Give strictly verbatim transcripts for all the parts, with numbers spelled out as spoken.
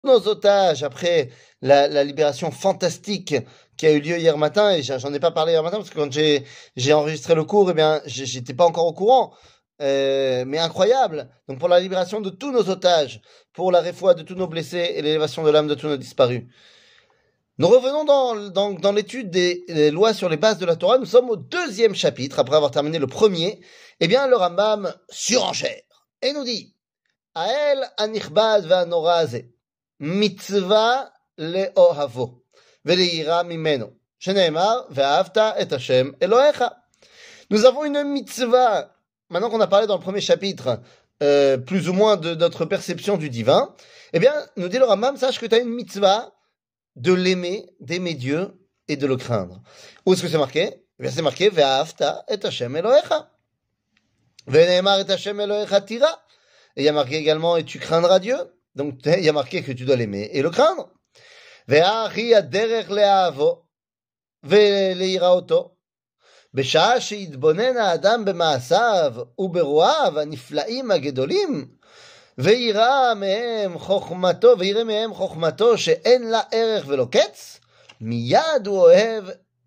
nos otages après la, la libération fantastique qui a eu lieu hier matin, et j'en ai pas parlé hier matin parce que quand j'ai j'ai enregistré le cours, eh bien, j'ai- j'étais pas encore au courant. Euh, mais incroyable. Donc pour la libération de tous nos otages, pour la réfoua de tous nos blessés et l'élévation de l'âme de tous nos disparus. Nous revenons dans, dans, dans l'étude des, des lois sur les bases de la Torah. Nous sommes au deuxième chapitre, après avoir terminé le premier. Eh bien, le Rambam surenchère et nous dit Ael anichbad ve'anoraze mitzvah le'ohavo ve'leira mimeno sheneemar ve'ahavta et Hashem Elohecha. Nous avons une mitzvah. Maintenant qu'on a parlé dans le premier chapitre, euh, plus ou moins de notre perception du divin, eh bien, nous dit le Rambam, sache que tu as une mitzvah de l'aimer, d'aimer Dieu et de le craindre. Où est-ce que c'est marqué? Eh bien, c'est marqué Ve'ahavta et Hashem Elohecha. Ve'neemar et Hashem Elohecha tira. Et il y a marqué également et tu craindras Dieu. Donc il y a marqué que tu dois l'aimer et le craindre. Ve'achi aderech le'ahavo ve'le'iraoto. בשעה שיתבונן האדם במעשיו וברואיו הנפלאים הגדולים ויראה מהם חוכמתו, ויראה מהם חוכמתו שאין לה ערך ולא קץ, מיד הוא אוהב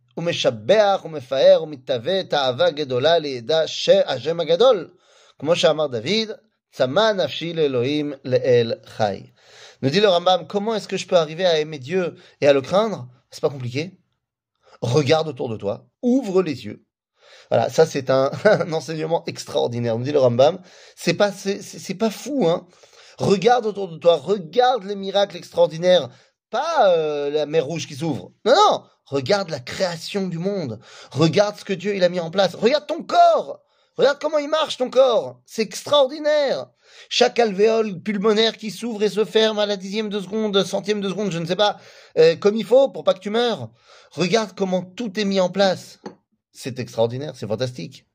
ומשבח ומפאר ומתהווה תאווה גדולה לידע השם הגדול, כמו שאמר דוד, צמא נפשי לאלוהים לאל חי. Nous dit le Rambam, comment est-ce que je peux arriver à aimer Dieu et à le craindre? C'est pas compliqué. Regarde autour de toi, ouvre les yeux. Voilà, ça c'est un, un enseignement extraordinaire. Nous dit le Rambam, c'est pas c'est, c'est pas fou, hein. Regarde autour de toi, regarde les miracles extraordinaires, pas euh, la mer Rouge qui s'ouvre. Non, non, regarde la création du monde. Regarde ce que Dieu il a mis en place. Regarde ton corps. Regarde comment il marche ton corps. C'est extraordinaire. Chaque alvéole pulmonaire qui s'ouvre et se ferme à la dixième de seconde, centième de seconde, je ne sais pas, euh, comme il faut pour pas que tu meurs. Regarde comment tout est mis en place. C'est extraordinaire, c'est fantastique.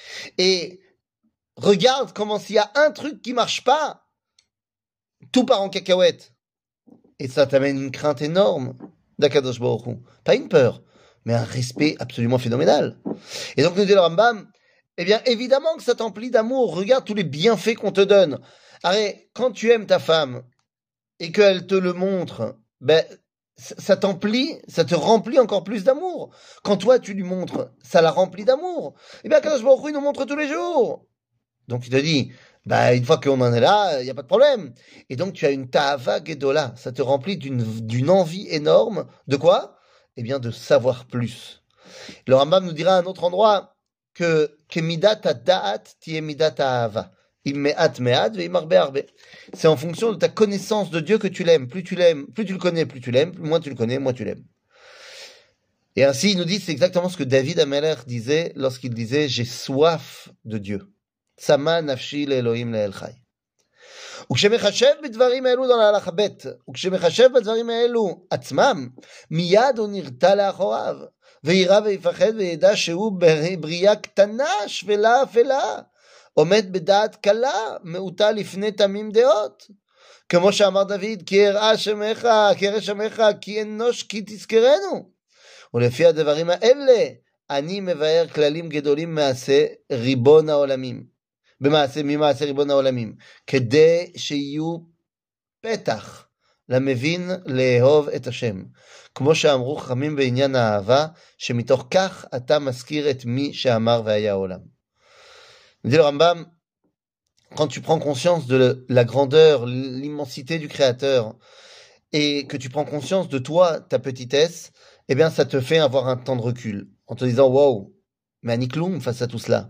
Et regarde comment s'il y a un truc qui marche pas, tout part en cacahuète. Et ça t'amène une crainte énorme d'Akadosh Baruch Hu. Pas une peur, mais un respect absolument phénoménal. Et donc nous dit le Rambam, eh bien évidemment que ça t'emplit d'amour. Regarde tous les bienfaits qu'on te donne. Arrête, quand tu aimes ta femme et qu'elle te le montre, ben ça t'emplit, ça te remplit encore plus d'amour. Quand toi tu lui montres, ça la remplit d'amour. Eh bien Akadosh Baruch Hu il nous montre tous les jours. Donc il te dit, bah une fois qu'on en est là, il n'y a pas de problème. Et donc tu as une ta'ava gedola, ça te remplit d'une d'une envie énorme. De quoi? Eh bien de savoir plus. Le Rambam nous dira à un autre endroit que que midat da'at tiye midat ha'ava. Imme'at me'at ve'imarbe arbe. C'est en fonction de ta connaissance de Dieu que tu l'aimes. Plus tu l'aimes, plus tu le connais, plus tu l'aimes. Moins tu le connais, moins tu l'aimes. Et ainsi, il nous dit, c'est exactement ce que David Ameler disait lorsqu'il disait, j'ai soif de Dieu. צמא נפשי לאלוהים לאל חי. וכשמחשב בדברים האלו dans להלכה ב', וכשמחשב בדברים האלו עצמם, מיד הוא נרתע לאחוריו, וירא ויפחד וידע שהוא בריאה קטנה, שפלה אפלה, עומד בדעת קלה, מעוטה לפני תמים דעות. כמו שאמר דוד, כי יראה שמך, כי ירא שמך, כי אנוש כי תזכרנו. ולפי הדברים האלה, אני מבאר כללים גדולים מעשה ריבון העולמים. במעשה, ממעשה ריבון העולמים, כדי שיהיו פתח למבין לאהוב את השם. כמו שאמרו חכמים בעניין האהבה, שמתוך כך אתה מזכיר את מי שאמר והיה העולם. Dit le Rambam, quand tu prends conscience de la grandeur, l'immensité du Créateur, et que tu prends conscience de toi, ta petitesse, eh bien ça te fait avoir un temps de recul, en te disant, wow, mais Anikloum face à tout cela.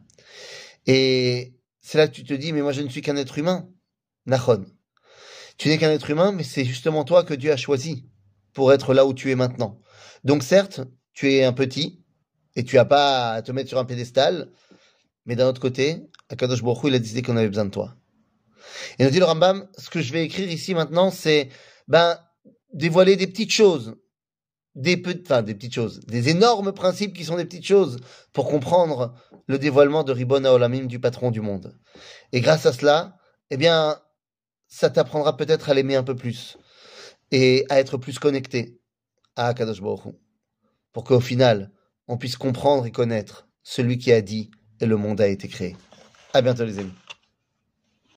Et c'est là que tu te dis, mais moi je ne suis qu'un être humain. Nachon. Tu n'es qu'un être humain, mais c'est justement toi que Dieu a choisi pour être là où tu es maintenant. Donc certes, tu es un petit, et tu n'as pas à te mettre sur un pédestal, mais d'un autre côté, Akadosh Baruch Hu, il a décidé qu'on avait besoin de toi. Et nous dit le Rambam, ce que je vais écrire ici maintenant, c'est, ben, dévoiler des petites choses. Des petites, enfin, des petites choses, des énormes principes qui sont des petites choses pour comprendre le dévoilement de Ribbon HaOlamim, du patron du monde. Et grâce à cela, eh bien, ça t'apprendra peut-être à l'aimer un peu plus et à être plus connecté à Akadosh Baruch Hu, pour qu'au final, on puisse comprendre et connaître celui qui a dit et le monde a été créé. À bientôt les amis.